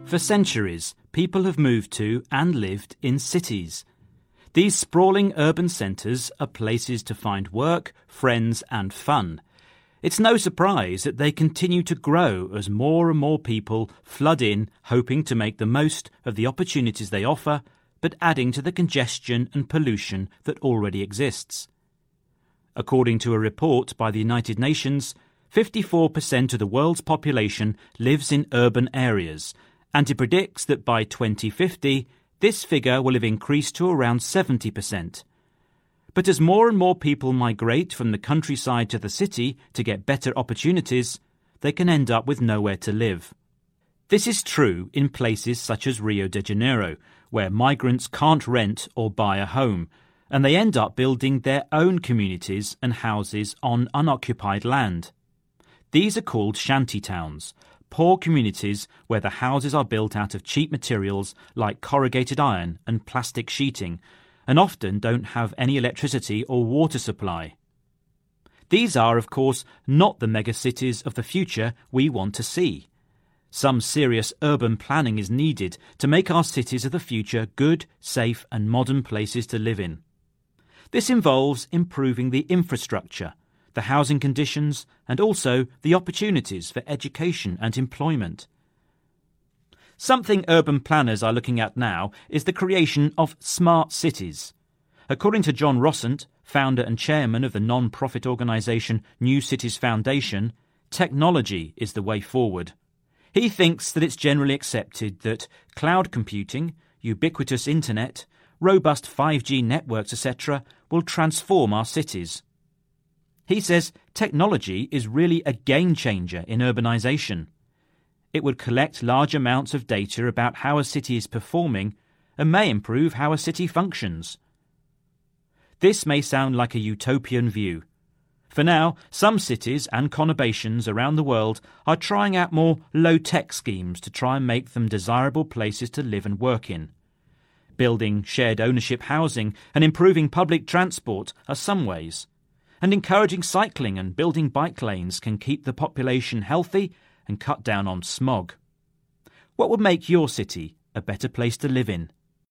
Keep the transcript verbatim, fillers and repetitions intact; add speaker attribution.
Speaker 1: For centuries, people have moved to and lived in cities. These sprawling urban centres are places to find work, friends and fun. It's no surprise that they continue to grow as more and more people flood in, hoping to make the most of the opportunities they offer, but adding to the congestion and pollution that already exists. According to a report by the United Nations, fifty-four percent of the world's population lives in urban areas, and it predicts that by twenty fifty, this figure will have increased to around seventy percent. But as more and more people migrate from the countryside to the city to get better opportunities, they can end up with nowhere to live. This is true in places such as Rio de Janeiro, where migrants can't rent or buy a home, and they end up building their own communities and houses on unoccupied land. These are called shanty towns, poor communities where the houses are built out of cheap materials like corrugated iron and plastic sheeting, and often don't have any electricity or water supply. These are, of course, not the megacities of the future we want to see. Some serious urban planning is needed to make our cities of the future good, safe and modern places to live in. This involves improving the infrastructure, the housing conditions and also the opportunities for education and employment. Something urban planners are looking at now is the creation of smart cities. According to John Rossant, founder and chairman of the non-profit organisation New Cities Foundation, technology is the way forward. He thinks that it's generally accepted that cloud computing, ubiquitous internet, robust five G networks, et cetera will transform our cities. He says technology is really a game changer in urbanisation. It would collect large amounts of data about how a city is performing and may improve how a city functions. This may sound like a utopian view. For now, some cities and conurbations around the world are trying out more low-tech schemes to try and make them desirable places to live and work in. Building shared ownership housing and improving public transport are some ways, and encouraging cycling and building bike lanes can keep the population healthy and cut down on smog. What would make your city a better place to live in?